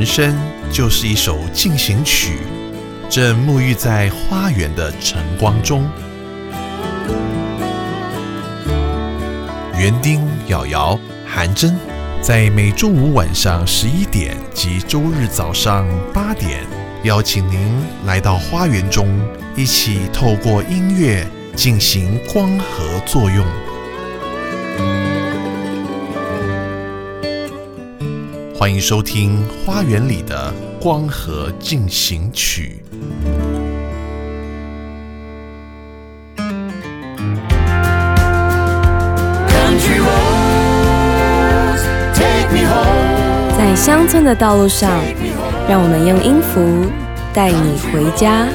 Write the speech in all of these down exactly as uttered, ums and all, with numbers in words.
生就是一首进行曲，正沐浴在花园的晨光中。园丁、瑶瑶、韩真，在每周五晚上十一点及周日早上八点，邀请您来到花园中，一起透过音乐进行光合作用。欢迎收听花园里的光合进行曲。 在乡村的道路上，让我们用音符带你回家。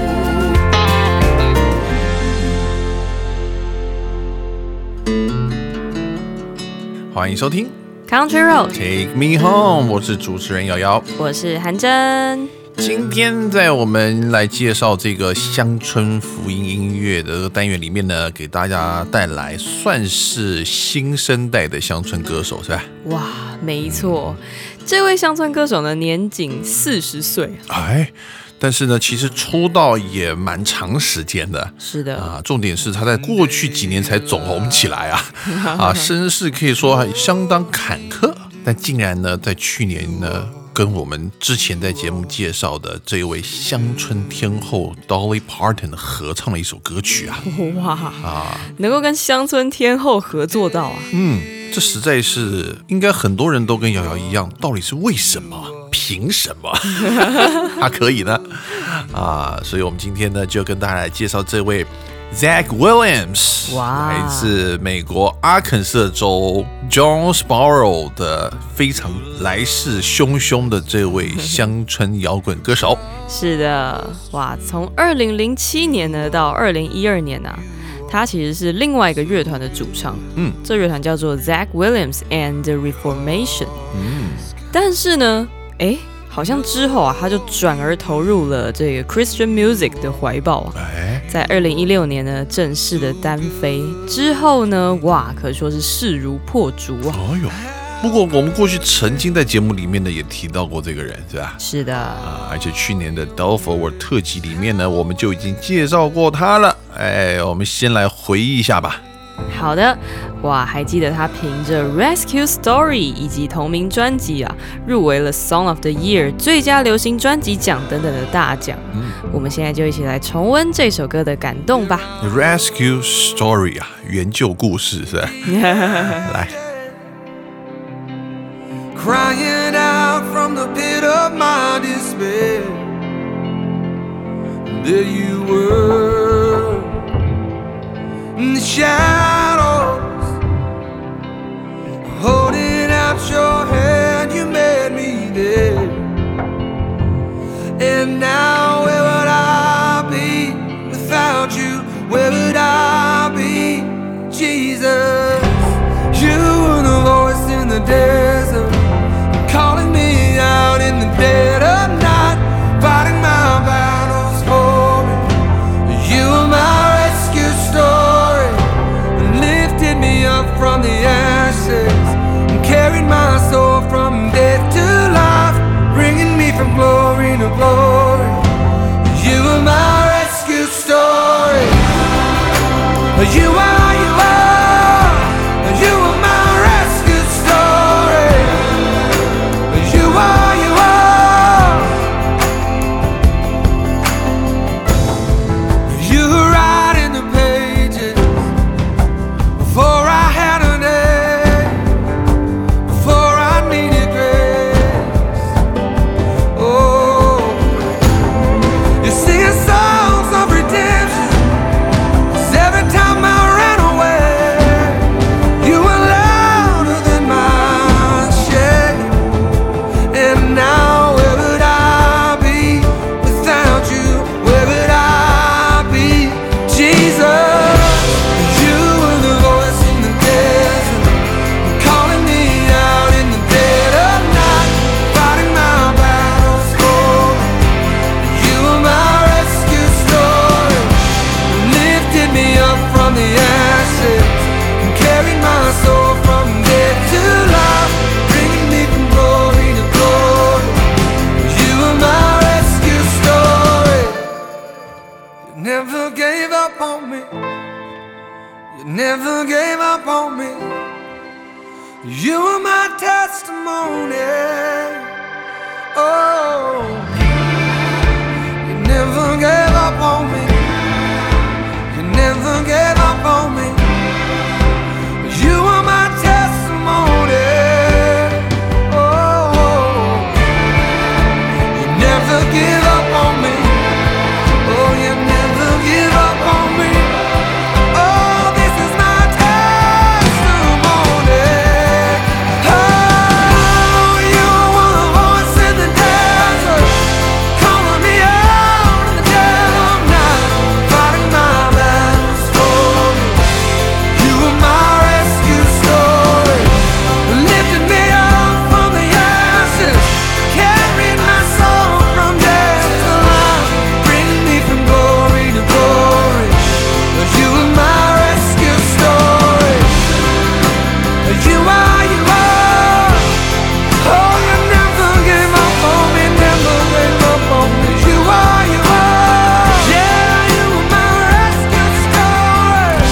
欢迎收听 Country Road Take Me Home， 我是主持人瑶瑶， 我是韩真。 今天在我们来介绍这个乡村福音音乐的这个单元里面呢，给大家带来算是新生代的乡村歌手，是吧？ 哇，没错，这位乡村歌手呢，年仅四十岁， 哎。但是呢，其实出道也蛮长时间的。 是的啊，重点是他在过去几年才走红起来啊，啊，身世可以说相当坎坷，但竟然呢，在去年呢，跟我们之前在节目介绍的这一位乡村天后 Dolly Parton 合唱了一首歌曲啊， 哇啊，能够跟乡村天后合作到啊， 嗯，这实在是应该很多人都跟瑶瑶一样，到底是为什么？凭什么他可以呢？啊，所以我们今天呢就跟大家来介绍这位 Zach Williams， 来自美国阿肯色州 Jonesboro 的非常来势汹汹的这位乡村摇滚歌手。 是的，哇，从二零零七年呢到二零一二年啊，他其实是另外一个乐团的主唱，嗯，这乐团叫做 Zach Williams and the Reformation，嗯，但是呢。哎，好像之后啊，他就转而投入了这个 Christian music 的怀抱啊。在二零一六年呢，正式的单飞之后呢，哇，可说是势如破竹啊。 哎呦，不过我们过去曾经在节目里面呢也提到过这个人，是吧？ 是的， 啊，而且去年的 Del Forward 特辑里面呢，我们就已经介绍过他了。哎，我们先来回忆一下吧。 好的，哇，还记得他凭着 Rescue Story 以及同名专辑啊，入围了 Song of the Year 最佳流行专辑奖等等的大奖。嗯，我们现在就一起来重温这首歌的感动吧。 Rescue Story 啊，援救故事是吧？来。 Crying out from the pit of my despair, there you were, in the shadows, holding out your hand, you made me there. And now where would I be without you? Where would I be, Jesus? You were the voice in the desert, calling me out in the dead of night, fighting my battles for me. You were my rescue story, lifted me up from the ashes, and carried my soul from death to life, bringing me from glory to glory. You were my rescue story. You are, you are, you are my rescue story. You are, you are. You were writing the pages before I had a name, before I needed grace. Oh, you're singing songs of redemption. 'Cause every time I ran away, you were louder than my shame. And now where would I be without you? Where would I be, Jesus? You were the voice in the desert, calling me out in the dead of night, fighting my battles for me. You were my rescue story, lifted me up from the ashes, and carried my soul from death to life, bringing me from glory to glory. me. You never gave up on me. You were my testimony. Oh, you never gave up on me. You never gave up on me. You were my testimony. Oh, you never give up on me. Oh, you never give up on me. Oh, this is my testimony. Oh, you were a voice in the desert, calling me out in the dead of night, fighting my battles for me. You were my rescue story, lifted me up from the ashes, carried my soul from death to life, bringing me from glory to glory. You were my rescue story. You are, you are. Oh, you never gave up on me, never gave up on me. You are, you are. Yeah, you were my rescue story.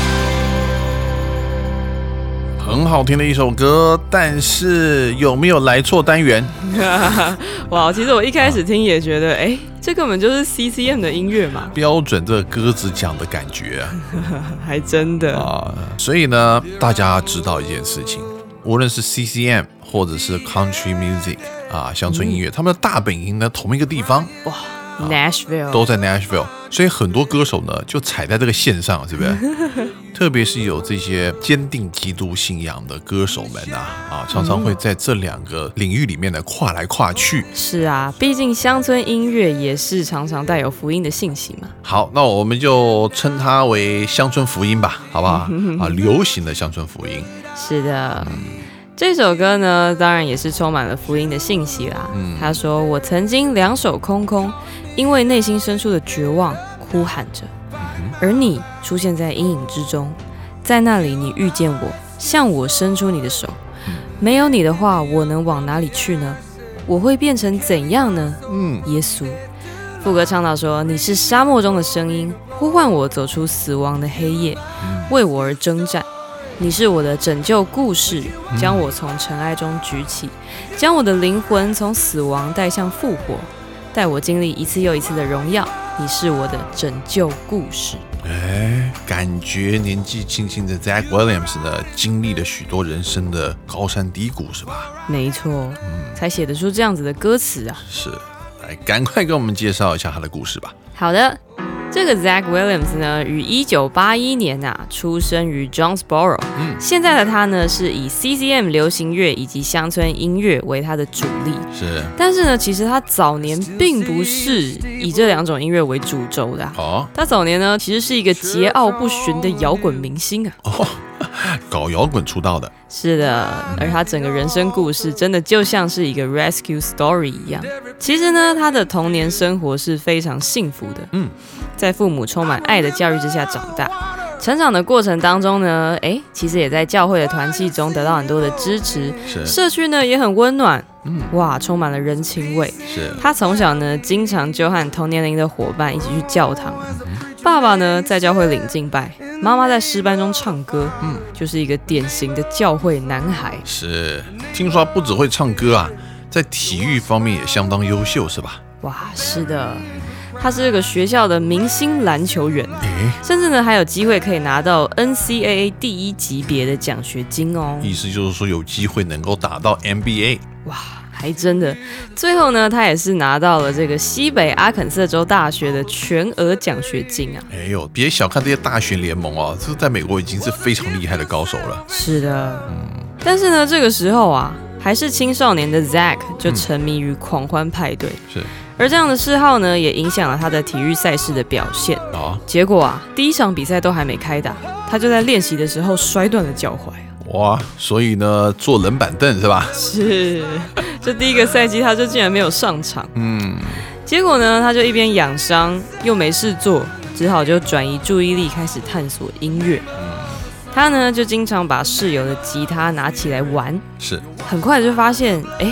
很好听的一首歌，但是有没有来错单元？ 哇，其实我一开始听也觉得，哎，这根本就是 C C M 的音乐嘛， 标准这个鸽子讲的感觉啊！ 还真的啊，所以呢，大家知道一件事情，无论是 C C M 或者是 Country Music 啊，乡村音乐，他们的大本营呢同一个地方， 哇，Nashville 都在 Nashville， 所以很多歌手呢就踩在这个线上，是不是？特别是有这些坚定基督信仰的歌手们啊，啊，常常会在这两个领域里面呢跨来跨去。 是啊，毕竟乡村音乐也是常常带有福音的信息嘛。 好，那我们就称它为乡村福音吧，好不好？啊，流行的乡村福音。 是的。这首歌呢，当然也是充满了福音的信息啦。嗯、他说：“我曾经两手空空，因为内心深处的绝望哭喊着，而你出现在阴影之中，在那里你遇见我，向我伸出你的手。没有你的话，我能往哪里去呢？我会变成怎样呢？嗯，耶稣。”副歌唱到说：“你是沙漠中的声音，呼唤我走出死亡的黑夜，为我而征战。”你是我的拯救故事，将我从尘埃中举起，将我的灵魂从死亡带向复活，带我经历一次又一次的荣耀。你是我的拯救故事。 哎，感觉年纪轻轻的 Zach Williams 呢，经历了许多人生的高山低谷，是吧？ 没错，嗯、才写得出这样子的歌词啊。 是，来，赶快给我们介绍一下他的故事吧。 好的。这个 Zach Williams 呢，于一九八一年啊出生于 Jonesboro。嗯，现在的他呢是以 C C M 流行乐以及乡村音乐为他的主力。 是， 但是呢，其实他早年并不是以这两种音乐为主轴的、啊。哦，他早年呢其实是一个桀骜不驯的摇滚明星啊。 哦，搞摇滚出道的。 是的，而他整个人生故事真的就像是一个 rescue story 一样。其实呢，他的童年生活是非常幸福的。嗯。在父母充满爱的教育之下长大，成长的过程当中呢，哎，其实也在教会的团契中得到很多的支持，社区呢也很温暖，嗯，哇，充满了人情味。是，他从小呢经常就和同年龄的伙伴一起去教堂，嗯、爸爸呢在教会领敬拜，妈妈在诗班中唱歌，嗯，就是一个典型的教会男孩。 是，听说他不只会唱歌啊，在体育方面也相当优秀，是吧？ 哇，是的。他是这个学校的明星篮球员，甚至呢还有机会可以拿到 N C double A 第一级别的奖学金哦。 意思就是说有机会能够打到 N B A。 哇，还真的。最后呢，他也是拿到了这个西北阿肯色州大学的全额奖学金啊。 哎呦，别小看这些大学联盟哦，这在美国已经是非常厉害的高手了。 是的，嗯。但是呢，这个时候啊，还是青少年的 Zach 就沉迷于狂欢派对。嗯、是。而这样的嗜好呢，也影响了他的体育赛事的表现。哦、结果啊，第一场比赛都还没开打，他就在练习的时候摔断了脚踝。 哇，所以呢，坐冷板凳是吧？ 是，这第一个赛季他就竟然没有上场。嗯，结果呢，他就一边养伤又没事做，只好就转移注意力，开始探索音乐。嗯，他呢就经常把室友的吉他拿起来玩。是，很快就发现，哎。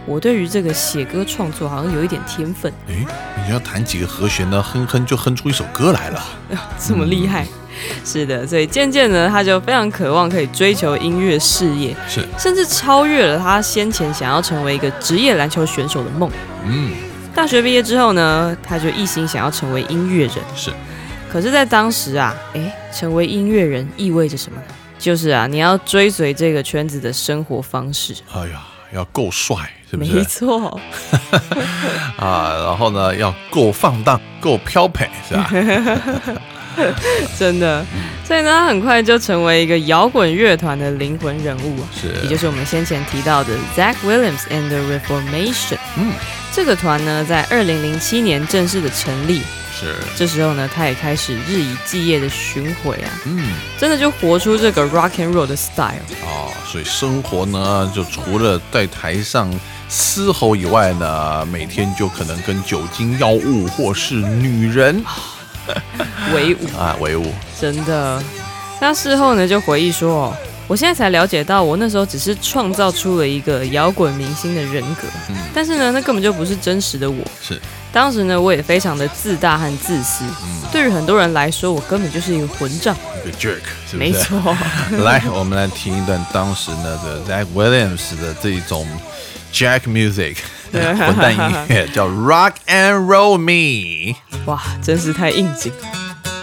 我对于这个写歌创作好像有一点天分。 诶，你要弹几个和弦呢，哼哼就哼出一首歌来了， 这么厉害。嗯，是的，所以渐渐的他就非常渴望可以追求音乐事业， 是甚至超越了他先前想要成为一个职业篮球选手的梦。 嗯， 大学毕业之后呢，他就一心想要成为音乐人。 是， 可是在当时啊，诶，成为音乐人意味着什么呢？就是啊，你要追随这个圈子的生活方式。 哎呀，要够帅，是不是？ 没错。 啊，然后呢，要够放荡，够飘配，是吧？ 真的，所以呢，他很快就成为一个摇滚乐团的灵魂人物啊， 是， 也就是我们先前提到的 Zach Williams and the Reformation。 嗯， 这个团呢，在二零零七年正式的成立。 是， 这时候呢，他也开始日以继夜的巡回啊， 嗯， 真的就活出这个 rock and roll 的 style 哦。所以生活呢，就除了在台上嘶吼以外呢，每天就可能跟酒精、药物或是女人为伍啊，为伍， 真的。那事后呢，就回忆说，哦，我现在才了解到，我那时候只是创造出了一个摇滚明星的人格，嗯，但是呢，那根本就不是真实的我。 是， 当时呢，我也非常的自大和自私，嗯，对于很多人来说，我根本就是一个混账， 一个 jerk， 是不是？ 没错。 来，我们来听一段当时呢的 Zach Williams 的这种 Jack music 混蛋音乐，叫 Rock and Roll Me。 哇，真是太应景了。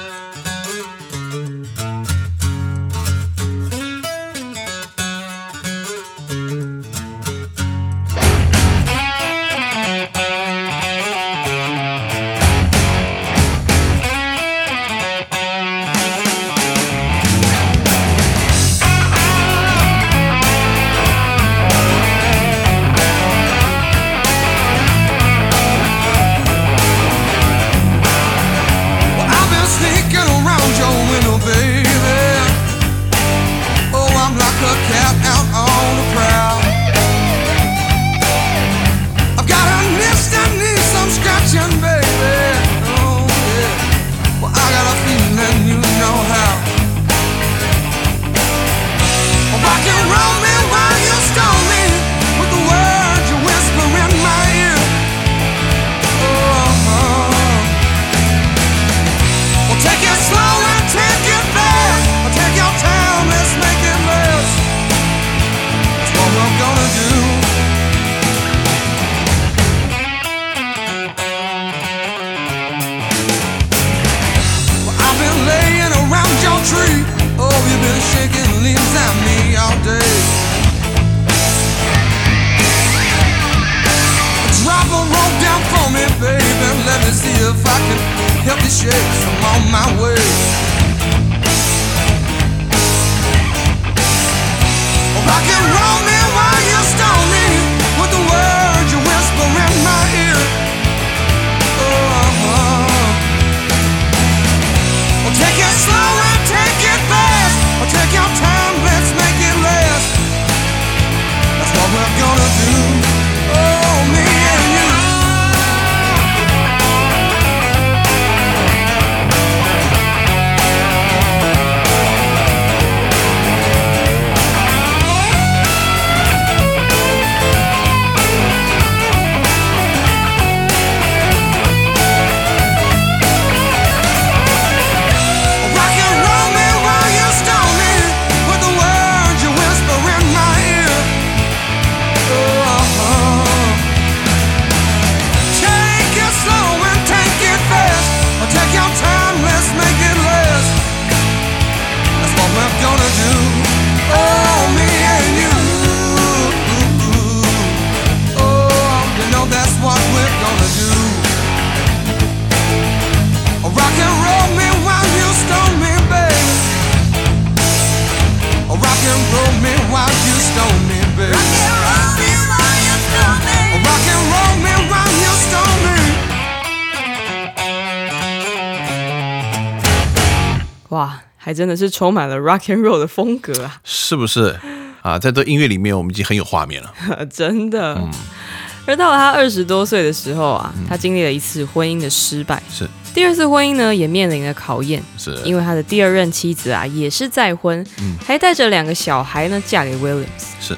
哇，还真的是充满了 rock and roll 的风格啊， 是不是啊？在这音乐里面，我们已经很有画面了， 真的。 嗯， 而到了他二十多岁的时候啊，他经历了一次婚姻的失败， 是第二次婚姻呢也面临了考验， 是因为他的第二任妻子啊也是再婚，嗯，还带着两个小孩呢嫁给 Williams， 是。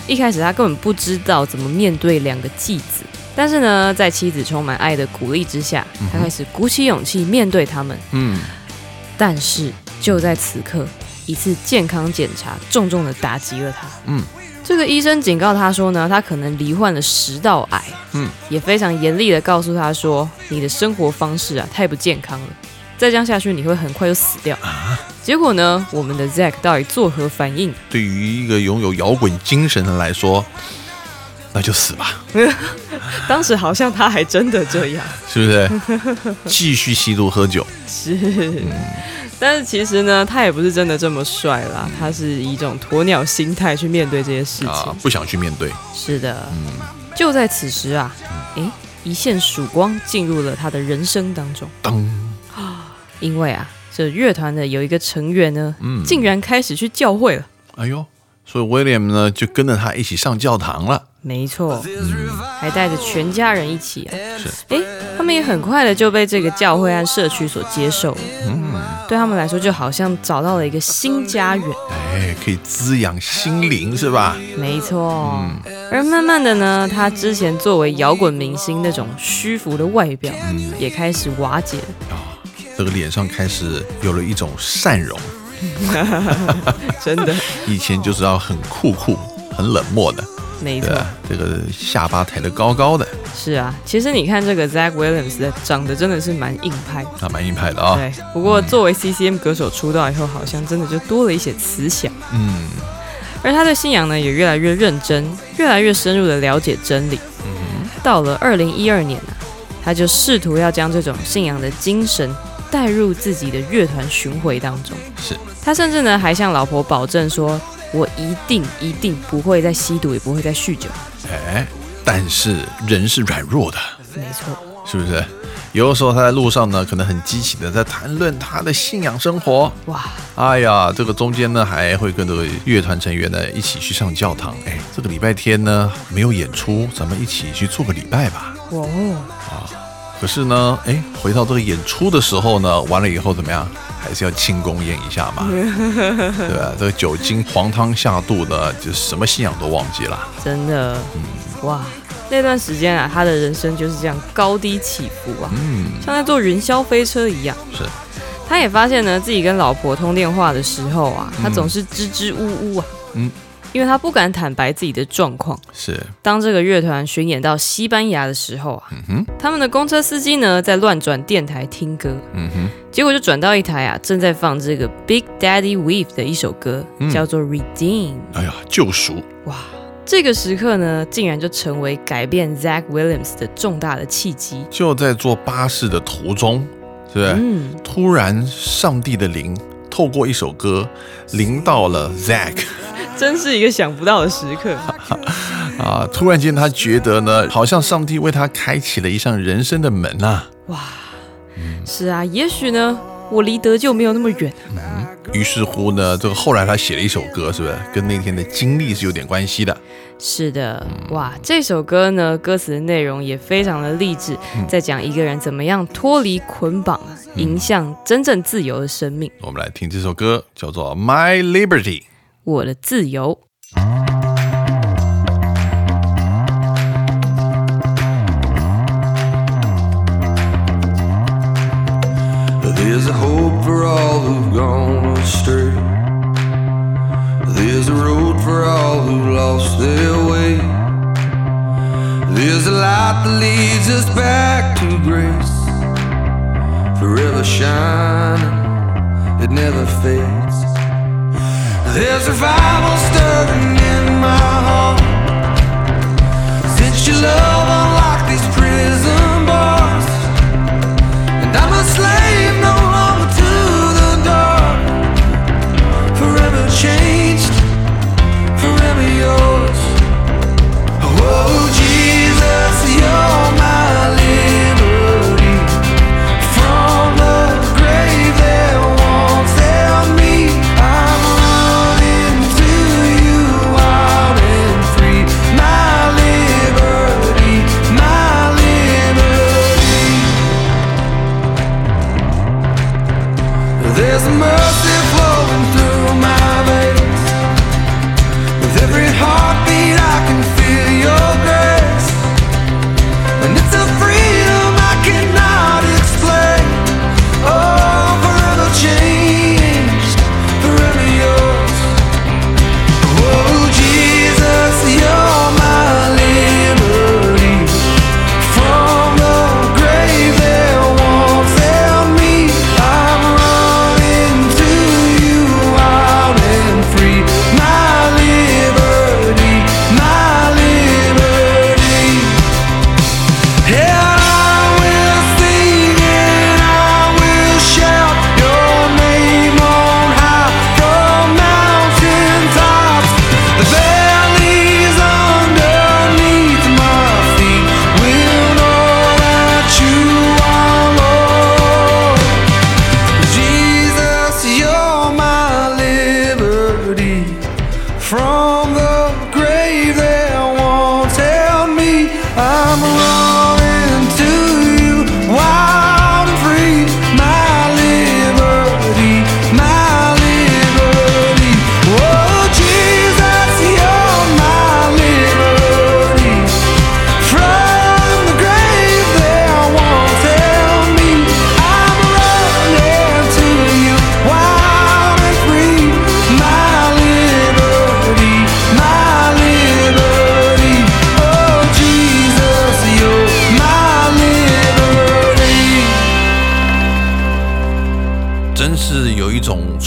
一开始他根本不知道怎么面对两个继子，但是呢，在妻子充满爱的鼓励之下，他开始鼓起勇气面对他们。嗯，但是就在此刻，一次健康检查重重的打击了他。嗯，这个医生警告他说呢，他可能罹患了食道癌。嗯，也非常严厉的告诉他说，你的生活方式啊太不健康了，再这样下去你会很快就死掉。啊，结果呢，我们的 Zack 到底作何反应？ 对于一个拥有摇滚精神的人来说，那就死吧。 当时好像他还真的这样， 是不是？继续吸毒喝酒。 是。嗯，但是其实呢，他也不是真的这么帅啦，他是以一种鸵鸟心态去面对这些事情，啊， 不想去面对。 是的。嗯，就在此时啊，哎，一线曙光进入了他的人生当中。当，因为啊，这乐团的有一个成员呢，嗯，竟然开始去教会了。 哎呦，所以 William 呢就跟着他一起上教堂了。 没错。嗯，还带着全家人一起啊。是。哎，他们也很快的就被这个教会和社区所接受了。嗯，对他们来说就好像找到了一个新家园。 哎，可以滋养心灵，是吧？ 没错。嗯，而慢慢的呢，他之前作为摇滚明星那种虚浮的外表，嗯，也开始瓦解了。哦， 这个脸上开始有了一种善容。 真的。 以前就是要很酷酷、很冷漠的。 没错， 这个下巴抬得高高的。 是啊，其实你看这个 Zack Williams 的长得真的是蛮硬派的， 啊，蛮硬派的啊。 对，不过作为 C C M 歌手出道以后，好像真的就多了一些慈祥。嗯，而他的信仰呢，也越来越认真，越来越深入的了解真理。嗯，到了二零一二年啊，他就试图要将这种信仰的精神带入自己的乐团巡回当中。 是， 他甚至呢还向老婆保证说，我一定一定不会再吸毒，也不会再酗酒。 哎，但是人是软弱的， 没错， 是不是？有的时候他在路上呢，可能很激情的在谈论他的信仰生活。哇，哎呀，这个中间呢还会跟这个乐团成员呢一起去上教堂。哎，这个礼拜天呢没有演出，咱们一起去做个礼拜吧。哇啊！可是呢，哎，回到这个演出的时候呢，完了以后怎么样？还是要庆功宴一下嘛，对吧？这个酒精黄汤下肚的，就什么信仰都忘记了。 真的，嗯，哇，那段时间啊，他的人生就是这样高低起伏啊，嗯，像在坐云霄飞车一样。 是， 他也发现呢，自己跟老婆通电话的时候啊，他总是支支吾吾啊，嗯。因为他不敢坦白自己的状况。 是， 当这个乐团巡演到西班牙的时候啊，嗯哼，他们的公车司机呢在乱转电台听歌，嗯哼，结果就转到一台啊正在放这个 Big Daddy Weave 的一首歌，嗯，叫做 Redeem。 哎呀，救赎！ 哇，这个时刻呢，竟然就成为改变 Zack Williams 的重大的契机。 就在坐巴士的途中，是不是？嗯，突然上帝的灵透过一首歌临到了 Zack。 真是一个想不到的时刻啊！突然间，他觉得呢，好像上帝为他开启了一扇人生的门啊！哇， 嗯，是啊，也许呢，我离得救没有那么远。嗯， 于是乎呢，这个后来他写了一首歌，是不是跟那天的经历是有点关系的？ 是的，哇，这首歌呢，歌词的内容也非常的励志，嗯，在讲一个人怎么样脱离捆绑啊，迎向真正自由的生命。 我们来听这首歌，叫做《My Liberty》。 我的自由。 There's a hope for all who've gone astray. There's a road for all who lost their way. There's a light that leads us back to grace, forever shining, it never fades. There's revival stirring in my heart, since your love unlocked these prison bars, and I'm a slave no longer to the dark, forever changed, forever yours. Oh Jesus, you're my liberty, from the grave that once held me. I'm running to you wild and free. My liberty, my liberty.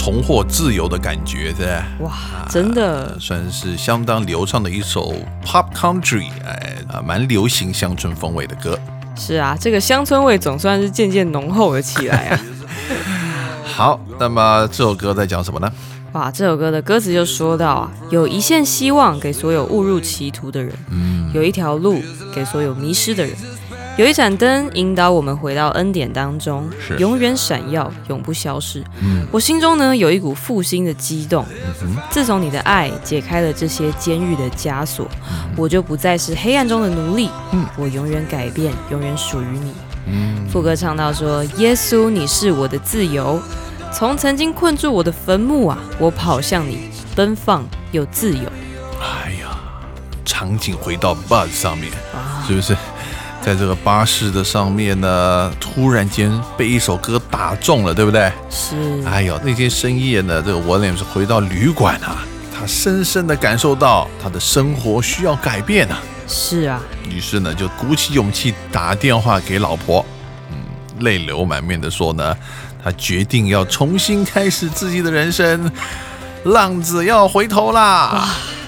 重获自由的感觉，对吧？ 哇，真的、 啊、算是相当流畅的一首 pop country， 哎啊，蛮流行乡村风味的歌。 是啊，这个乡村味总算是渐渐浓厚了起来啊。 好，那么这首歌在讲什么呢？ 哇，这首歌的歌词就说到啊，有一线希望给所有误入歧途的人，嗯，有一条路给所有迷失的人，有一盏灯引导我们回到恩典当中，永远闪耀，永不消失。嗯，我心中呢有一股复兴的激动。嗯、自从你的爱解开了这些监狱的枷锁，嗯、我就不再是黑暗中的奴隶。嗯，我永远改变，永远属于你。嗯，副歌唱到说：耶稣，你是我的自由。从曾经困住我的坟墓啊，我跑向你，奔放又自由。 哎呀，场景回到 bus 上面，啊、是不是？在这个巴士的上面呢，突然间被一首歌打中了，对不对？ 是。 哎呦，那天深夜呢，这个 Williams 回到旅馆啊，他深深的感受到他的生活需要改变啊。 是啊。 于是呢，就鼓起勇气打电话给老婆，嗯，泪流满面的说呢。他决定要重新开始自己的人生，浪子要回头啦！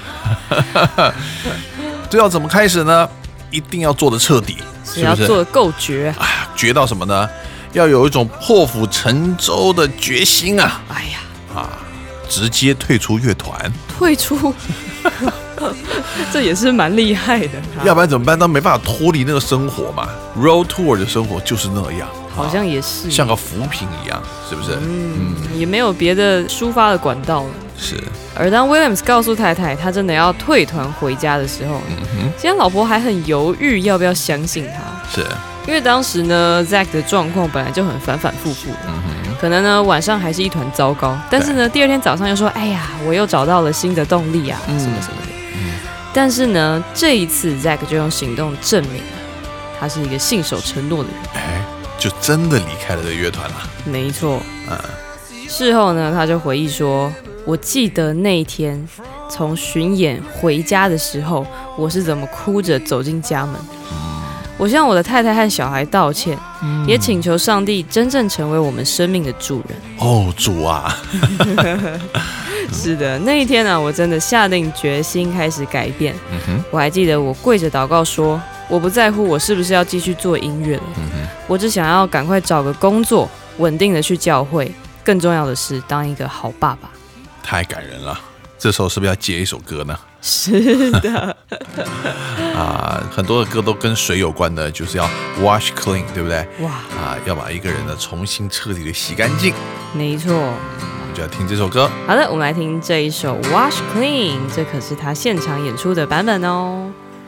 这要怎么开始呢？一定要做得彻底，是不是？ 要做得够绝。 哎呀，绝到什么呢？要有一种破釜沉舟的决心啊！ 哎呀， 啊，直接退出乐团， 退出，这也是蛮厉害的。 要不然怎么办？他没办法脱离那个生活嘛。Road Tour 的生活就是那样。 好像也是、 啊、像个浮萍一样，是不是？ 嗯，嗯也没有别的抒发的管道了。 是。 而当 Williams 告诉太太他真的要退团回家的时候，嗯哼，其实老婆还很犹豫要不要相信他。 是。 因为当时呢 Zack 的状况本来就很反反复复的，嗯哼，可能呢晚上还是一团糟糕，但是呢第二天早上又说，哎呀，我又找到了新的动力啊，嗯、什么什么的。嗯、但是呢这一次 Zack 就用行动证明了，他是一个信守承诺的人。 哎。就真的离开了这个乐团了。 没错，嗯。事后呢，他就回忆说：“我记得那一天从巡演回家的时候，我是怎么哭着走进家门。嗯、我向我的太太和小孩道歉，嗯、也请求上帝真正成为我们生命的主人。” 哦，主啊！ 是的，那一天呢、啊，我真的下定决心开始改变。嗯、我还记得我跪着祷告说。我不在乎我是不是要继续做音乐了，嗯、我只想要赶快找个工作，稳定的去教会。更重要的是，当一个好爸爸。 太感人了！这时候是不是要接一首歌呢？ 是的。 啊，很多的歌都跟水有关的，就是要 wash clean， 对不对？ 哇！ 啊，要把一个人呢重新彻底的洗干净。 没错。 我们就要听这首歌。 好的，我们来听这一首 Wash Clean， 这可是他现场演出的版本哦。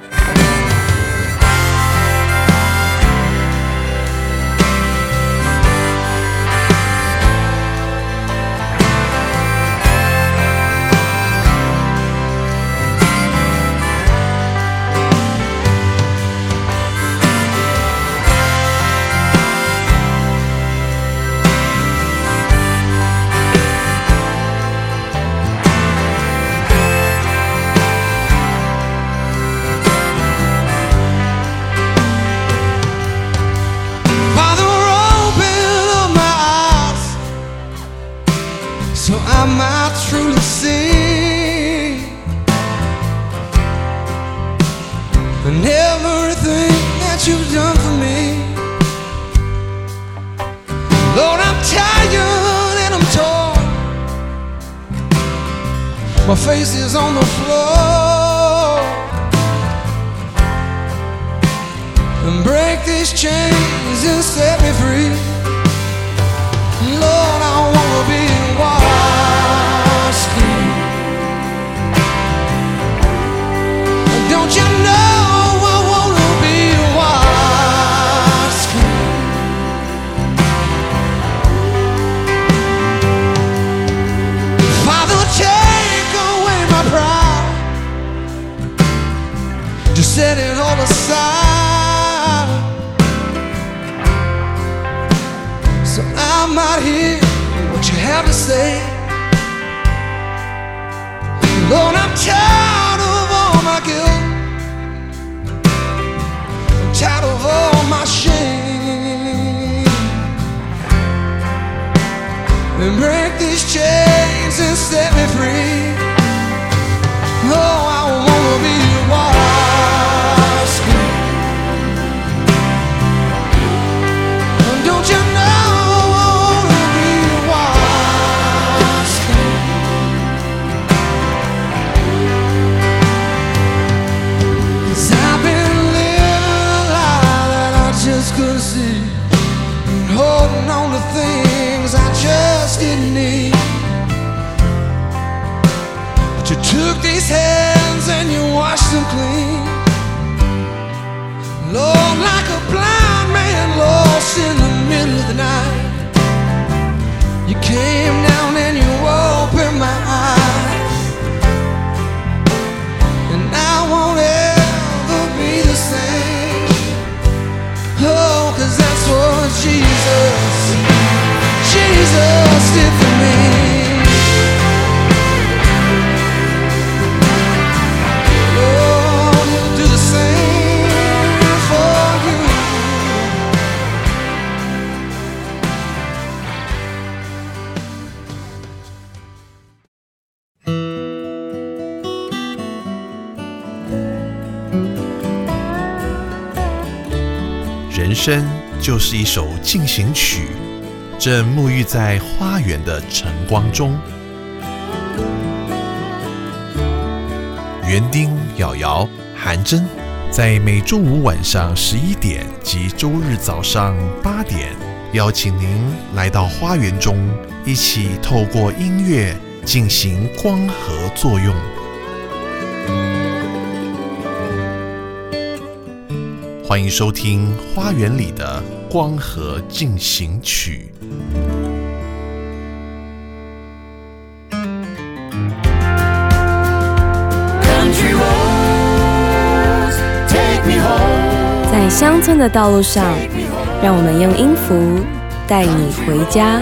My face is on the floor, and break these chains and set me free. Lord, I wanna be washed clean. Don't you know I wanna be washed clean? Father, take away my pride, just set it all aside, so I might hear what you have to say. Lord, I'm tired of all my guilt, I'm tired of all my shame, and break these chains his hands and you washed him clean. Lord, like a blind man lost in the middle of the night, you came down and you opened my eyes, and I won't ever be the same. Oh, 'cause that's what Jesus, Jesus did for me. Lord, he'll do the same for you. 人生就是一首进行曲，正沐浴在花园的晨光中。园丁、瑶瑶、韩真，在每周五晚上十一点及周日早上八点，邀请您来到花园中，一起透过音乐进行光合作用。欢迎收听《花园里的光合进行曲》。 在乡村的道路上，让我们用音符带你回家。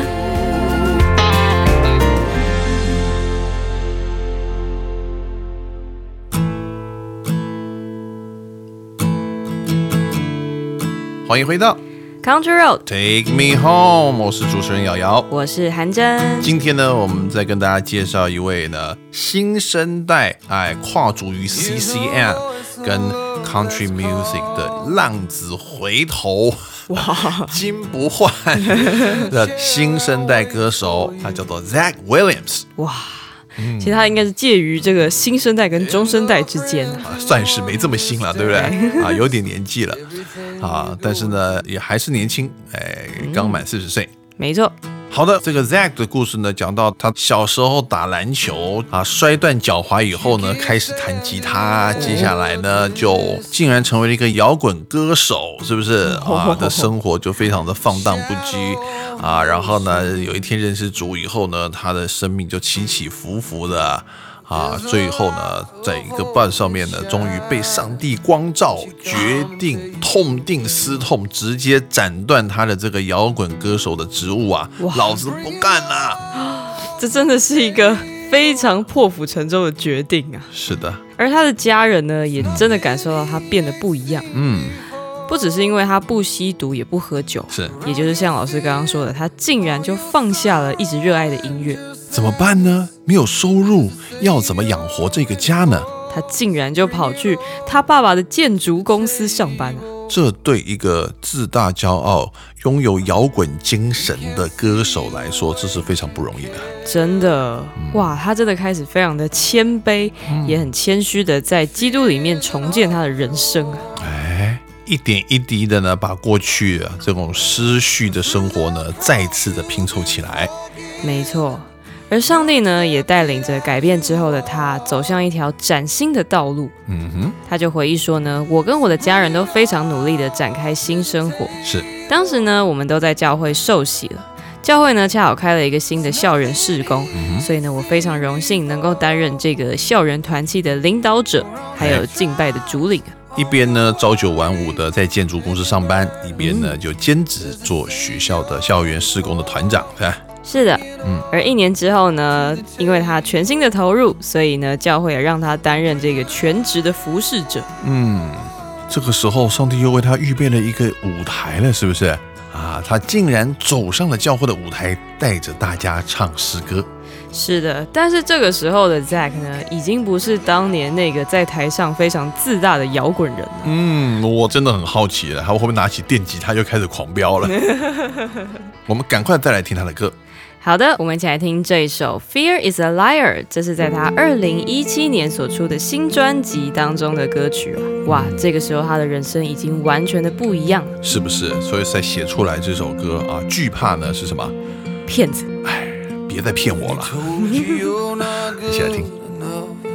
欢迎回到 Country Road Take Me Home， 我是主持人瑶瑶， 我是韩真。 今天呢，我们再跟大家介绍一位呢新生代，哎，跨足于 C C M 跟 Country Music 的浪子回头，哇，金不换的新生代歌手，他叫做 Zach Williams， 哇。其实他应该是介于这个新生代跟中生代之间、 啊、算是没这么新了，对不对？啊，有点年纪了啊，但是呢，也还是年轻，哎，刚满四十岁， 没错。 好的，这个 Zach 的故事呢，讲到他小时候打篮球啊，摔断脚踝以后呢，开始弹吉他，接下来呢，就竟然成为了一个摇滚歌手，是不是啊？的生活就非常的放荡不羁啊，然后呢，有一天认识主以后呢，他的生命就起起伏伏的。啊，最后呢，在一个 bus 上面呢，终于被上帝光照，决定痛定思痛，直接斩断他的这个摇滚歌手的职务啊！老子不干了！ 这真的是一个非常破釜沉舟的决定啊！ 是的， 而他的家人呢，也真的感受到他变得不一样。嗯。不只是因为他不吸毒也不喝酒， 是， 也就是像老师刚刚说的，他竟然就放下了一直热爱的音乐。 怎么办呢？没有收入，要怎么养活这个家呢？ 他竟然就跑去他爸爸的建筑公司上班啊！ 这对一个自大骄傲、拥有摇滚精神的歌手来说，这是非常不容易的。 真的，嗯、哇，他真的开始非常的谦卑，嗯、也很谦虚的在基督里面重建他的人生啊！ 哎。一点一滴的呢，把过去啊这种失序的生活呢，再次的拼凑起来。 没错，而上帝呢，也带领着改变之后的他，走向一条崭新的道路。嗯哼，他就回忆说呢，我跟我的家人都非常努力的展开新生活。 是， 当时呢，我们都在教会受洗了。教会呢，恰好开了一个新的校园事工，嗯、所以呢，我非常荣幸能够担任这个校园团契的领导者，还有敬拜的主领。 一边呢朝九晚五的在建筑公司上班，一边呢就兼职做学校的校园事工的团长，是吧？ 是的，嗯。而一年之后呢，因为他全心的投入，所以呢，教会也让他担任这个全职的服侍者。嗯， 这个时候上帝又为他预备了一个舞台了，是不是？啊，他竟然走上了教会的舞台，带着大家唱诗歌。 是的，但是这个时候的 Zach 呢，已经不是当年那个在台上非常自大的摇滚人了。 嗯，我真的很好奇了，他会不会拿起电吉他就开始狂飙了？我们赶快再来听他的歌。 好的，我们一起来听这一首《Fear is a Liar》，这是在他二零一七年所出的新专辑当中的歌曲啊。哇，这个时候他的人生已经完全的不一样了， 是不是？所以才写出来这首歌啊。惧怕呢是什么？ 骗子。 哎，别再骗我了。一起来听。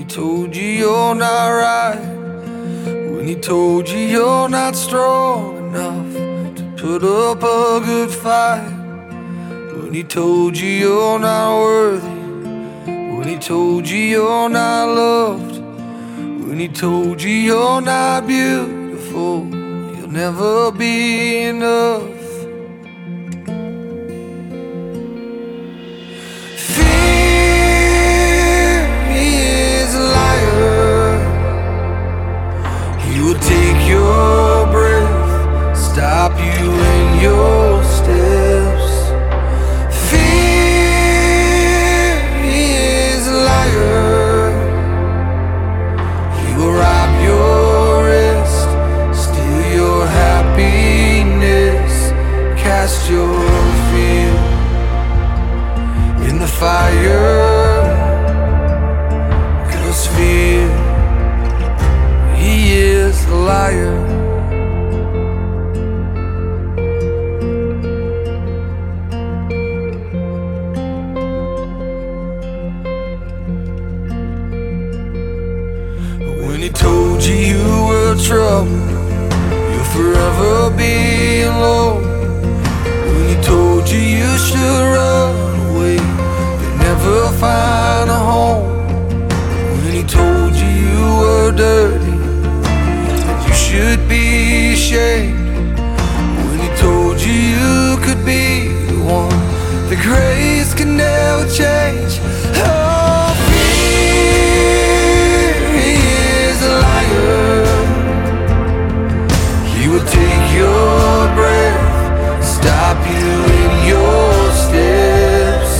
told you you're not right, when he told you you're not strong enough to put up a good fight, when he told you you're not worthy, when he told you you're not loved, when he told you you're not beautiful, you'll never be enough. Fear, he is a liar. He will take your breath, stop you in your steps. Fear, he is a liar. He will rob your rest, steal your happiness, cast your fear in the fire, 'cause fear, he is a liar. When he told you you were trouble, you'll forever be alone. When he told you you should run away, you'll never find a home. When he told you you were dirty, that you should be ashamed. When he told you you could be the one the grace can never change. Oh, fear, he is a liar. He will take your breath, stop you in your steps.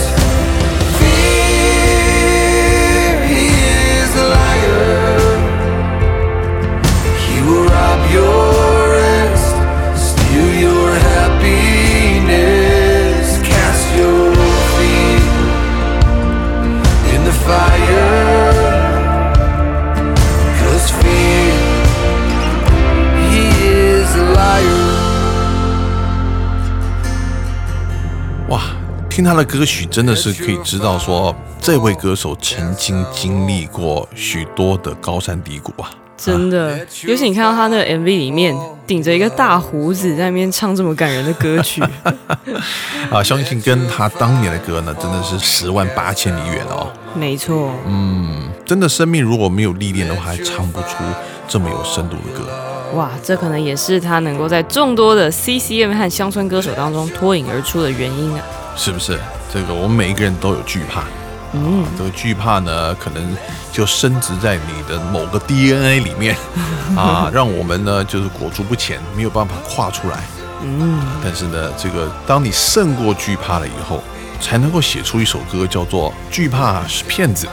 Fear, he is a liar. He will rob your rest, steal your happiness, cast your feet in the fire, 'cause fear, he is a liar. 哇，听他的歌曲真的是可以知道说，这位歌手曾经经历过许多的高山低谷啊。 真的，尤其你看到他那个 M V 里面顶着一个大胡子在那边唱这么感人的歌曲啊，相信跟他当年的歌呢，真的是十万八千里远哦。 没错， 嗯，真的生命如果没有历练的话，还唱不出这么有深度的歌。 哇，这可能也是他能够在众多的 C C M 和乡村歌手当中脱颖而出的原因啊。 是不是？这个我们每一个人都有惧怕。嗯，这个惧怕呢，可能就深植在你的某个 D N A 里面啊，让我们呢就是裹足不前，没有办法跨出来。嗯，但是呢，这个当你胜过惧怕了以后，才能够写出一首歌，叫做《惧怕是骗子的》。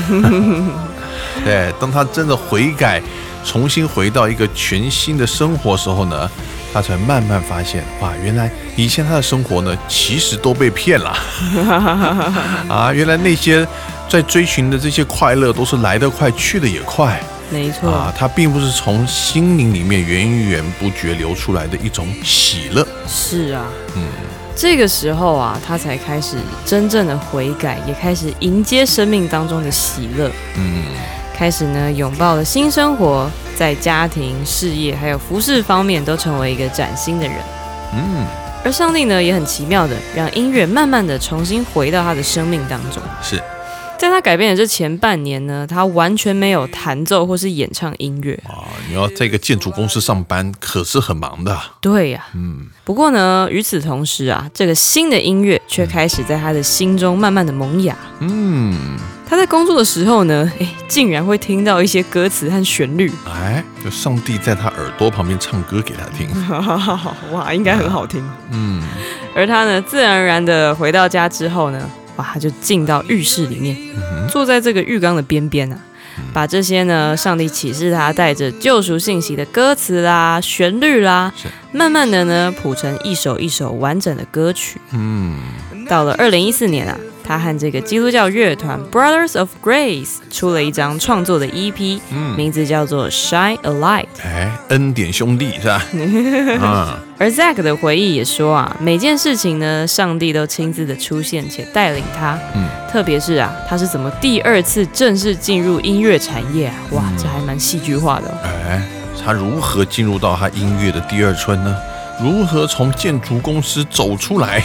对，当他真的悔改，重新回到一个全新的生活的时候呢，他才慢慢发现，哇，原来以前他的生活呢，其实都被骗了啊！原来那些在追寻的这些快乐，都是来得快，去得也快。 没错啊，它并不是从心灵里面源源不绝流出来的一种喜乐。 是啊，嗯，这个时候啊，他才开始真正的悔改，也开始迎接生命当中的喜乐。嗯。开始呢，拥抱了新生活，在家庭、事业还有服事方面都成为一个崭新的人。嗯，而上帝呢，也很奇妙的让音乐慢慢的重新回到他的生命当中。 是， 在他改变的这前半年呢，他完全没有弹奏或是演唱音乐。 啊，你要在一个建筑公司上班，可是很忙的。 对呀、啊，嗯。不过呢，与此同时啊，这个新的音乐却开始在他的心中慢慢的萌芽。嗯。他在工作的时候呢，哎，竟然会听到一些歌词和旋律， 哎，就上帝在他耳朵旁边唱歌给他听， 哇，应该很好听。嗯，而他呢，自然而然的回到家之后呢，哇，他就进到浴室里面，嗯、坐在这个浴缸的边边啊，把这些呢，上帝启示他带着救赎信息的歌词啦、旋律啦，慢慢的呢，谱成一首一首完整的歌曲。嗯，到了二零一四年啊。 他和这个基督教乐团 Brothers of Grace 出了一张创作的 E P，、嗯、名字叫做 Shine a Light。 哎，恩典兄弟是吧？嗯。 而 Zack 的回忆也说啊，每件事情呢，上帝都亲自的出现且带领他。嗯，特别是啊，他是怎么第二次正式进入音乐产业啊？哇，这还蛮戏剧化的、哦。 哎，他如何进入到他音乐的第二春呢？如何从建筑公司走出来？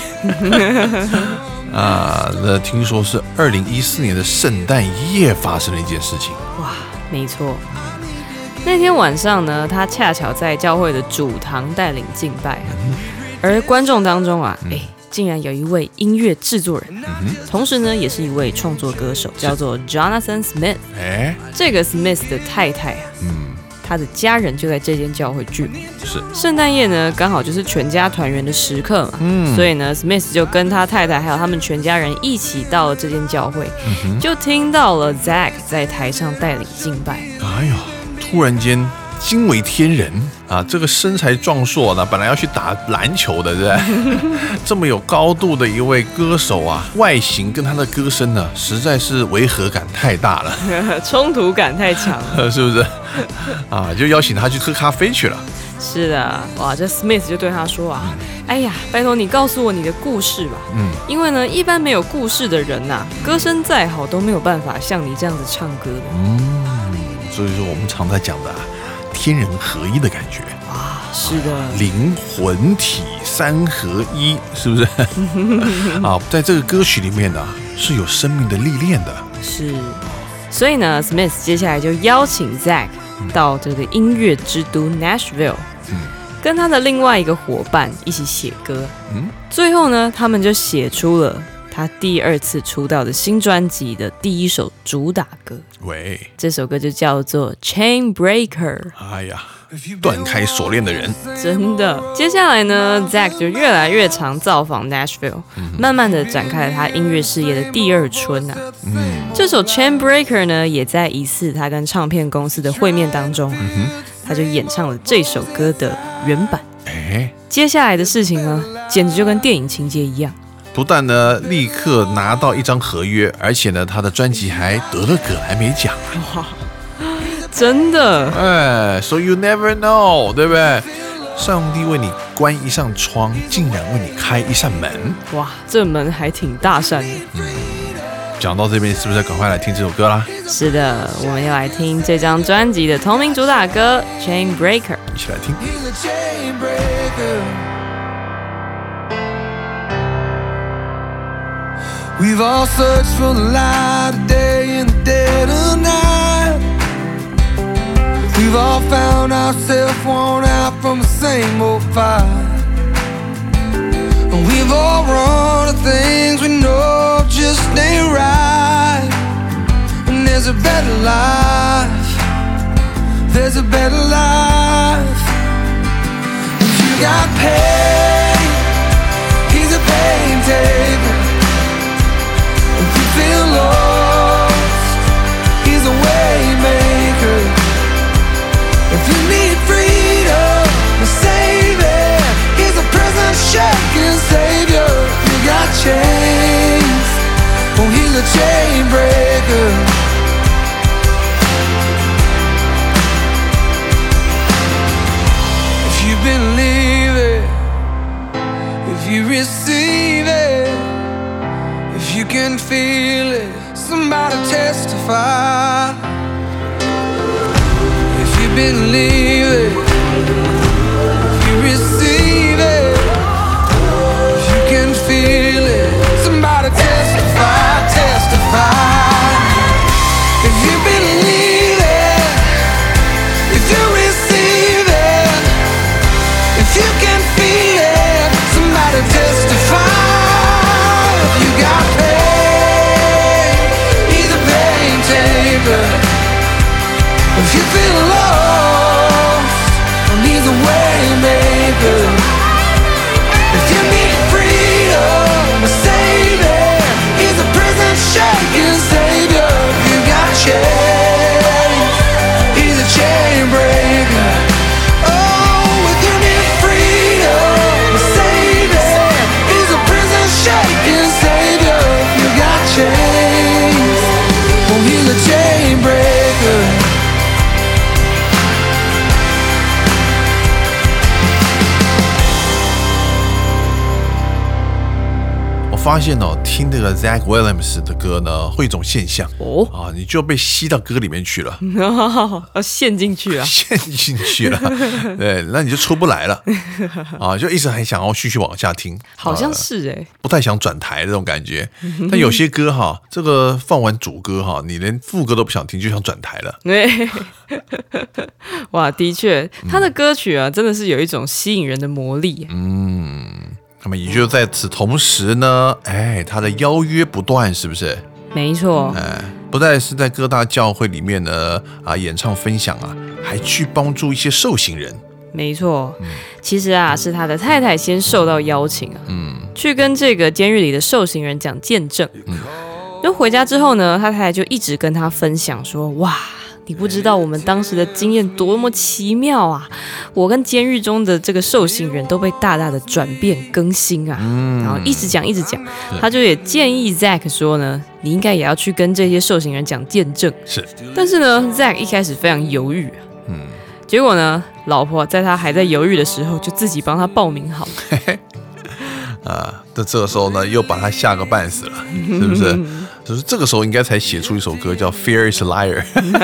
啊，那听说是二零一四年的圣诞夜发生了一件事情。 哇，没错。那天晚上呢，他恰巧在教会的主堂带领敬拜，嗯、而观众当中啊，哎、嗯，竟然有一位音乐制作人，嗯、同时呢，也是一位创作歌手，叫做 Jonathan Smith。哎，这个 Smith 的太太啊，嗯，他的家人就在这间教会聚会。 是圣诞夜呢，刚好就是全家团圆的时刻嘛，嗯，所以呢 ，Smith 就跟他太太还有他们全家人一起到了这间教会，嗯、就听到了 Zack 在台上带领敬拜。 哎呦！突然间惊为天人啊！这个身材壮硕呢，本来要去打篮球的，对不对？这么有高度的一位歌手啊，外形跟他的歌声呢，实在是违和感太大了， 冲突感太强了， 是不是？啊，就邀请他去喝咖啡去了。 是的，哇，这 Smith 就对他说啊，哎呀，拜托你告诉我你的故事吧，嗯，因为呢，一般没有故事的人呐、啊，歌声再好都没有办法像你这样子唱歌的。嗯。 所以说我们常在讲的、啊、天人合一的感觉啊，是的， 灵魂体三合一，是不是？啊，在这个歌曲里面呢、啊，是有生命的历练的。 是，所以呢 ，Smith 接下来就邀请 Zack 到这个音乐之都 Nashville，、嗯、跟他的另外一个伙伴一起写歌。嗯，最后呢，他们就写出了他第二次出道的新专辑的第一首主打歌。 喂， 这首歌就叫做 Chain Breaker。 哎呀，断开锁链的人， 真的。接下来呢 ，Zack 就越来越常造访 Nashville，、嗯、慢慢的展开了他音乐事业的第二春啊。嗯，这首 Chain Breaker 呢，也在一次他跟唱片公司的会面当中，嗯、他就演唱了这首歌的原版。哎，接下来的事情呢，简直就跟电影情节一样。 不但呢立刻拿到一张合约，而且呢他的专辑还得了葛莱美奖。 哇，真的！ 哎 ，So you never know， 对不对？上帝为你关一扇窗，竟然为你开一扇门。 哇，这门还挺大扇的。 嗯，讲到这边，是不是要赶快来听这首歌啦？ 是的，我们要来听这张专辑的同名主打歌《Chain Breaker》， 一起来听。 We've all searched for the light of day in the dead of night. We've all found ourselves worn out from the same old fight. We've all run to things we know just ain't right. And there's a better life, there's a better life. If you got pain, he's a pain taker.If you feel lost, he's a way maker. If you need freedom, a savior, he's a prison shaking savior. If you got chains, oh, he's a chain breaker. If you believe it, if you receive it,if you can feel it, somebody testify. If you believe it, if you receive it, if you can feel it, somebody testify, testify. If you believe it, if you receive it, if you can feel it, somebody testify.If you got pain, he's a pain taker. If you feel lost, well, he's a way maker. If you need freedom, a savior, he's a prison shaking savior. If you got chains, he's a chain breaker. Oh, if you need freedom, a savior, he's a prison shaking savior. If you got 发现哦，听这个 Zach Williams 的歌呢，会有一种现象哦啊，你就被吸到歌里面去了， 要陷进去啊， 陷进去了，对，那你就出不来了啊，就一直还想要继续往下听， 好像是哎、欸， 不太想转台的这种感觉。但有些歌哈，这个放完主歌哈，你连副歌都不想听，就想转台了。 对，哇，的确，他的歌曲啊，真的是有一种吸引人的魔力。 嗯。那么也就在此同时呢，哎，他的邀约不断，是不是？ 没错， 哎，不但是在各大教会里面呢啊演唱分享啊，还去帮助一些受刑人。 没错，嗯、其实啊是他的太太先受到邀请啊，嗯，去跟这个监狱里的受刑人讲见证。嗯，就回家之后呢，他太太就一直跟他分享说，哇。你不知道我们当时的经验多么奇妙啊！我跟监狱中的这个受刑人都被大大的转变更新啊，嗯、然后一直讲一直讲，他就也建议 Zach 说呢，你应该也要去跟这些受刑人讲见证。 是， 但是呢 ，Zach 一开始非常犹豫，嗯，结果呢，老婆在他还在犹豫的时候，就自己帮他报名好了。 啊，那这个时候呢，又把他吓个半死了，是不是？就是这个时候应该才写出一首歌叫《Fear Is a Liar》。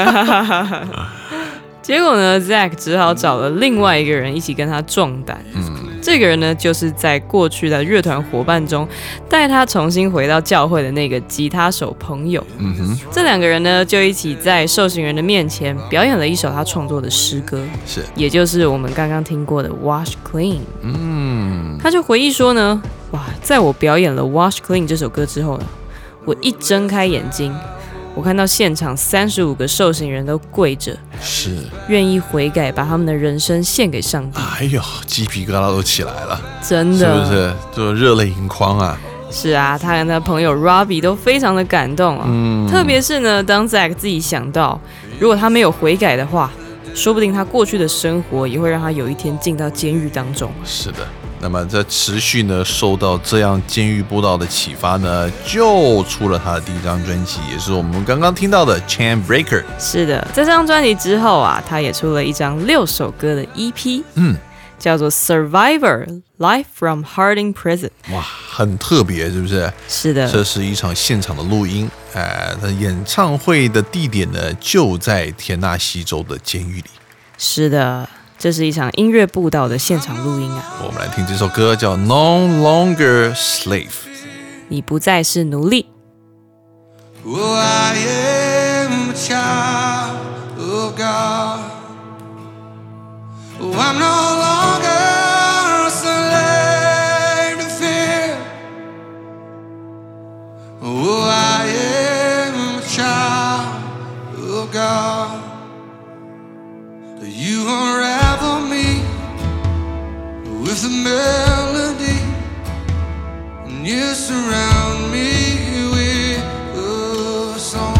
结果呢 ，Zach 只好找了另外一个人一起跟他壮胆。嗯，这个人呢，就是在过去的乐团伙伴中带他重新回到教会的那个吉他手朋友。嗯哼，这两个人呢，就一起在受刑人的面前表演了一首他创作的诗歌， 是， 也就是我们刚刚听过的《Wash Clean》。嗯，他就回忆说呢，哇，在我表演了《Wash Clean》这首歌之后呢，我一睁开眼睛。我看到现场三十五个受刑人都跪着， 是愿意悔改，把他们的人生献给上帝。 哎呦，鸡皮疙瘩都起来了， 真的， 是不是？就热泪盈眶啊！ 是啊，他跟他朋友 Robbie 都非常的感动啊。嗯，特别是呢，当 Zach 自己想到，如果他没有悔改的话，说不定他过去的生活也会让他有一天进到监狱当中。 是的。那么在持续呢受到这样监狱布道的启发呢，就出了他的第一张专辑，也是我们刚刚听到的 Chain Breaker。 是的，在这张专辑之后啊，他也出了一张六首歌的 E P， 嗯，叫做 Survivor Live from Harding Prison。 哇，很特别，是不是？ 是的， 这是一场现场的录音，呃，他演唱会的地点呢就在田纳西州的监狱里。 是的，这是一场音乐布道的现场录音啊。 我们来听这首歌叫 No Longer Slave， 你不再是奴隶。 Oh, I am a child of God. Oh, I'm no longer a slave to fear. Oh, I am a child of God. You unravel me with a melody, and you surround me with a song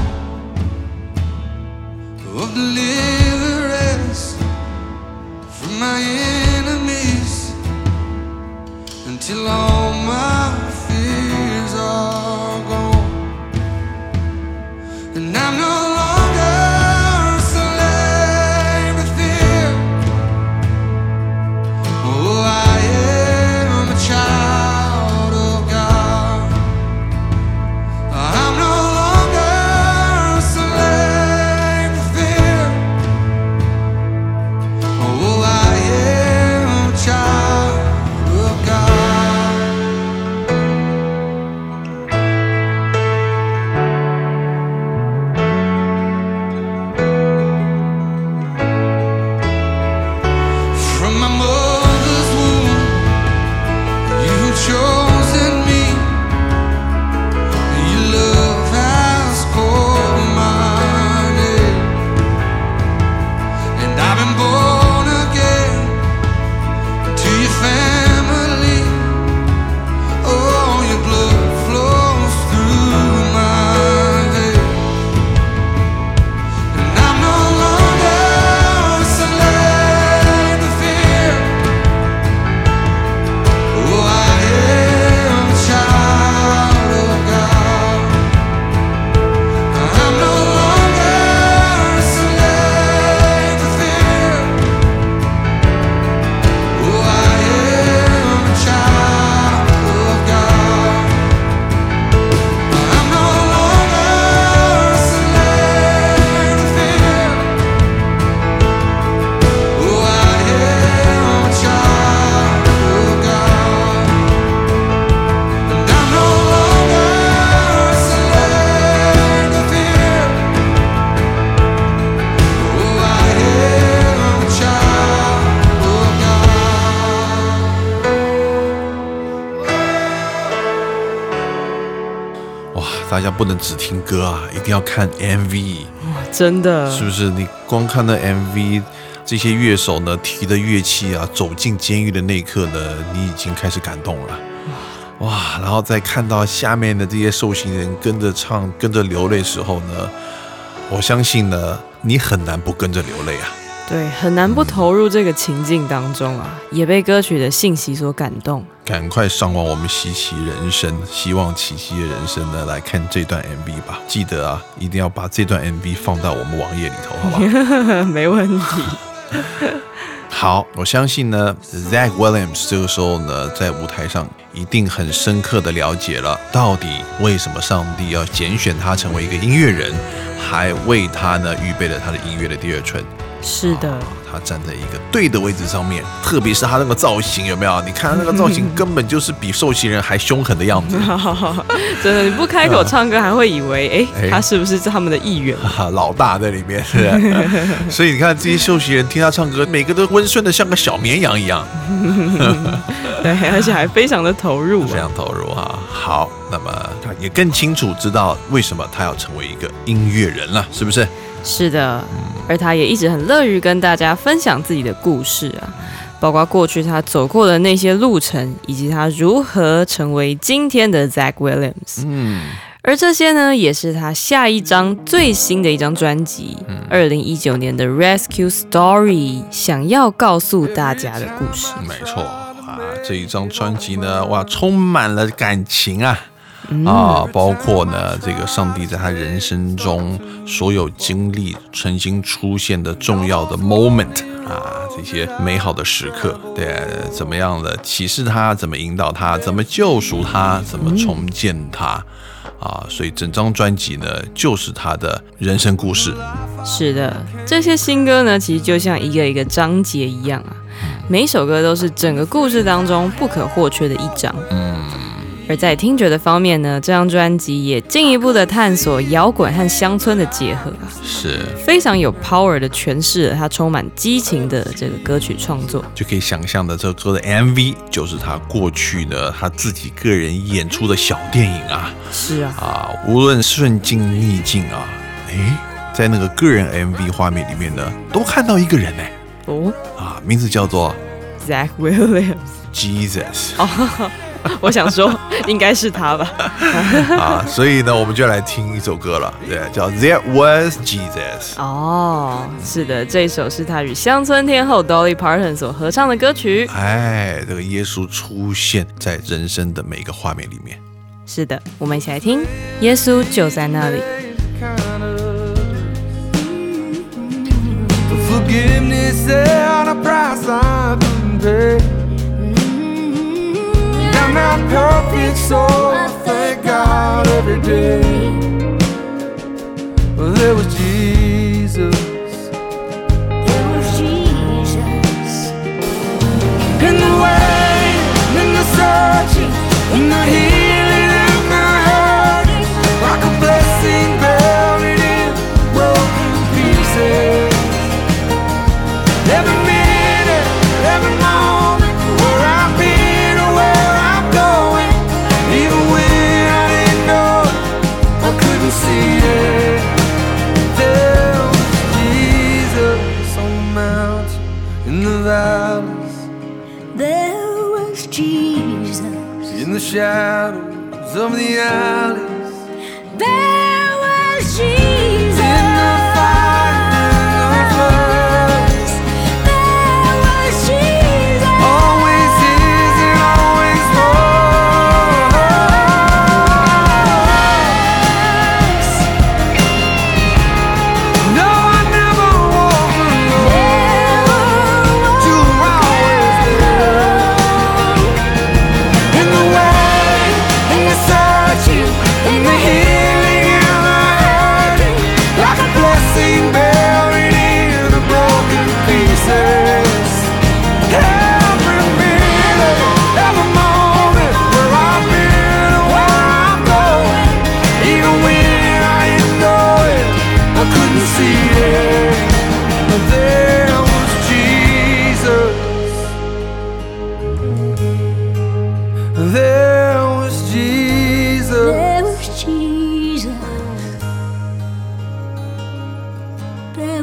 of deliverance from my enemies, until all my fears are gone, and I'm no 大家不能只听歌啊，一定要看 M V。 哇，真的， 是不是？你光看那 M V， 这些乐手呢提的乐器啊，走进监狱的那一刻呢，你已经开始感动了。哇，然后再看到下面的这些受刑人跟着唱、跟着流泪的时候呢，我相信呢，你很难不跟着流泪啊。 对，很难不投入这个情境当中啊，也被歌曲的信息所感动。 赶快上网我们希奇人生，希望奇奇的人生呢来看这段 M V 吧。记得啊，一定要把这段 M V 放到我们网页里头，好不好？ 没问题。 好，我相信呢 Zach Williams 这个时候呢在舞台上一定很深刻的了解了到底为什么上帝要拣选他成为一个音乐人，还为他呢预备了他的音乐的第二春。 是的、 哦、他站在一个对的位置上面，特别是他那个造型，有没有？你看他那个造型根本就是比受刑人还凶狠的样子。 真的，你不开口唱歌还会以为哎、欸，他是不是他们的议员、 啊、老大在里面，是吧？所以你看这些受刑人听他唱歌，每个都温顺的像个小绵羊一样。 对，而且还非常的投入、啊， 非常投入哈。好，那么他也更清楚知道为什么他要成为一个音乐人了，是不是？ 是的，而他也一直很乐于跟大家分享自己的故事啊，包括过去他走过的那些路程，以及他如何成为今天的 Zach Williams。嗯，而这些呢，也是他下一张最新的一张专辑，二零一九年的 Rescue Story 想要告诉大家的故事。 没错啊，这一张专辑呢，哇，充满了感情啊。啊，包括呢，这个上帝在他人生中所有经历、曾经出现的重要的 moment 啊，这些美好的时刻，对，怎么样的启示他，怎么引导他，怎么救赎他，怎么重建他，啊，所以整张专辑呢，就是他的人生故事。 是的，这些新歌呢，其实就像一个一个章节一样啊，每一首歌都是整个故事当中不可或缺的一章。嗯。而在听觉的方面呢，这张专辑也进一步的探索摇滚和乡村的结合啊， 是非常有 power 的诠释了它充满激情的这个歌曲创作。 就可以想象的这个歌的 M V 就是他过去呢他自己个人演出的小电影啊。 是啊， 啊，无论顺境逆境啊，哎，在那个个人 M V 画面里面呢，都看到一个人哎，哦，啊，名字叫做 Zach Williams Jesus。 哦我想说，应该是他吧。 啊，所以呢，我们就来听一首歌了，对，叫 There Was Jesus。 哦，是的，这一首是他与乡村天后 Dolly Parton 所合唱的歌曲。 哎，这个耶稣出现在人生的每个画面里面。 是的，我们一起来听，耶稣就在那里。 Forgiveness at a price I couldn't pay. I'm not perfect, so I thank God every day. Well, there was Jesus. There was Jesus. In the way, in the searching, in the healing, in the hurting, like a blessing buried in broken pieces. Every minute, every moment, where I've been or where I'm going, even when I didn't know, I couldn't see it. There was Jesus on the mountain, in the valleys. There was Jesus. In the shadows of the alleys. There was Jesus. In the fire, in the floods. There was Jesus. Always is and always was. No, I never walked alone. You were always there. In the way, in the searching,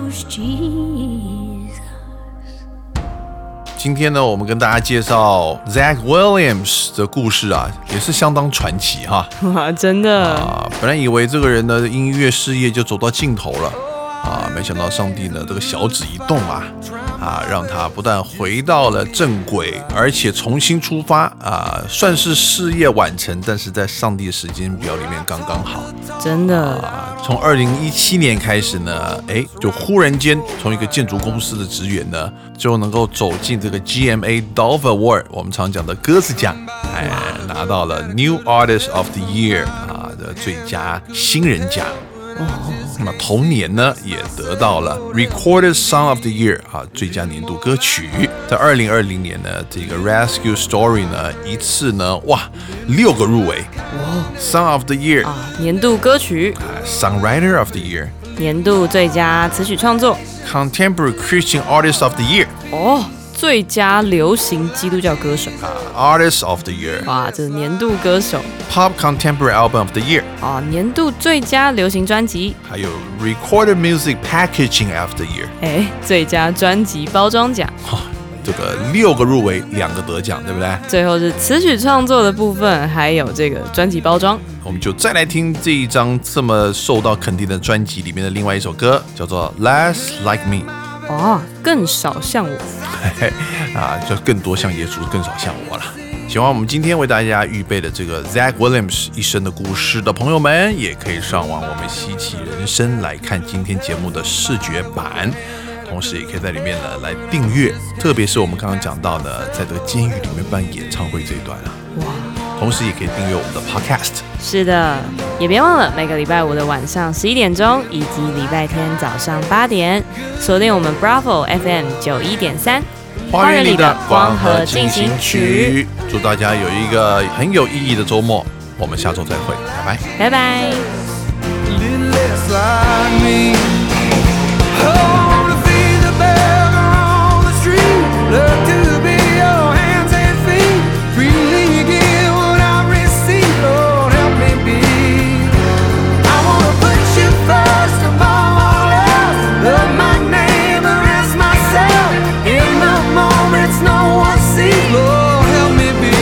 was Jesus. 今天呢，我们跟大家介绍 Zach Williams 的故事啊，也是相当传奇哈。 哇，真的啊，本来以为这个人的音乐事业就走到尽头了啊，没想到上帝呢，这个小指一动啊，啊，让他不但回到了正轨，而且重新出发啊，算是事业完成，但是在上帝的时间表里面刚刚好。 真的啊，从二零一七年开始呢，哎，就忽然间从一个建筑公司的职员呢，就能够走进这个 G M A Dove Award， 我们常讲的鸽子奖，哎，拿到了 New Artist of the Year 啊的最佳新人奖。那么同年呢，也得到了 Recorded Song of the Year 啊最佳年度歌曲。在二零二零年呢，这个 Rescue Story 呢，一次呢，哇，六个入围。Song of the Year 啊，年度歌曲、 啊 Songwriter of the Year、 年度最佳词曲创作、 Contemporary Christian Artist of the Year、 哦，最佳流行基督教歌手啊 Artist of the Year、 哇，这是年度歌手 Pop Contemporary Album of the Year、 啊，年度最佳流行专辑， 还有 Recorded Music Packaging of the Year。 哎，最佳专辑包装奖。 哈、这个六个入围，两个得奖，对不对？ 最后是词曲创作的部分，还有这个专辑包装。 我们就再来听这一张这么受到肯定的专辑里面的另外一首歌，叫做 Less Like Me。 哦，更少像我。 嘿嘿啊，就更多像耶稣，更少像我了。喜欢我们今天为大家预备的这个 Zach Williams 一生的故事的朋友们，也可以上网我们稀奇人生来看今天节目的视觉版，同时也可以在里面呢来订阅，特别是我们刚刚讲到的，在这个监狱里面办演唱会这一段啊， 哇！ 同时也可以订阅我们的 Podcast。 是的，也别忘了每个礼拜五的晚上十一点钟，以及礼拜天早上八点，锁定我们 Bravo F M 九一点三。 花园里的光和进行曲，祝大家有一个很有意义的周末，我们下周再会，拜拜， 拜拜。 little less like me. I wanna be the beggar on the street. Love to be your hands and feet. Freely give what I receive. Lord, help me be. I wanna put you first above all else. Love my neighbor as myself. In the moments no one sees. Lord, help me be.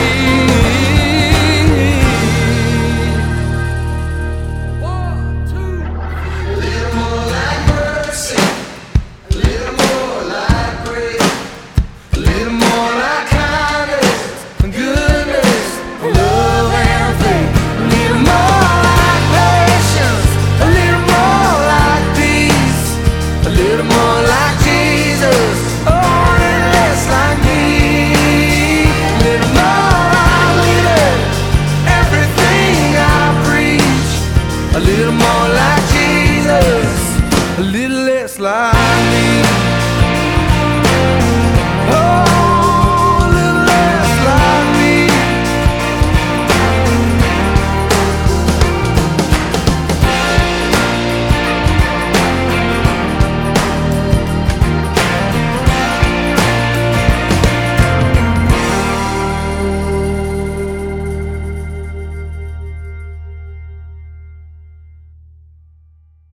One, two. A little more like mercy, a little more like grace, a little more like kindness and goodness, love and faith, a little more like patience, a little more like peace, a little more like Jesus, oh, and less like me, a little more like living everything I preach, a little more like Jesus, a little less like me.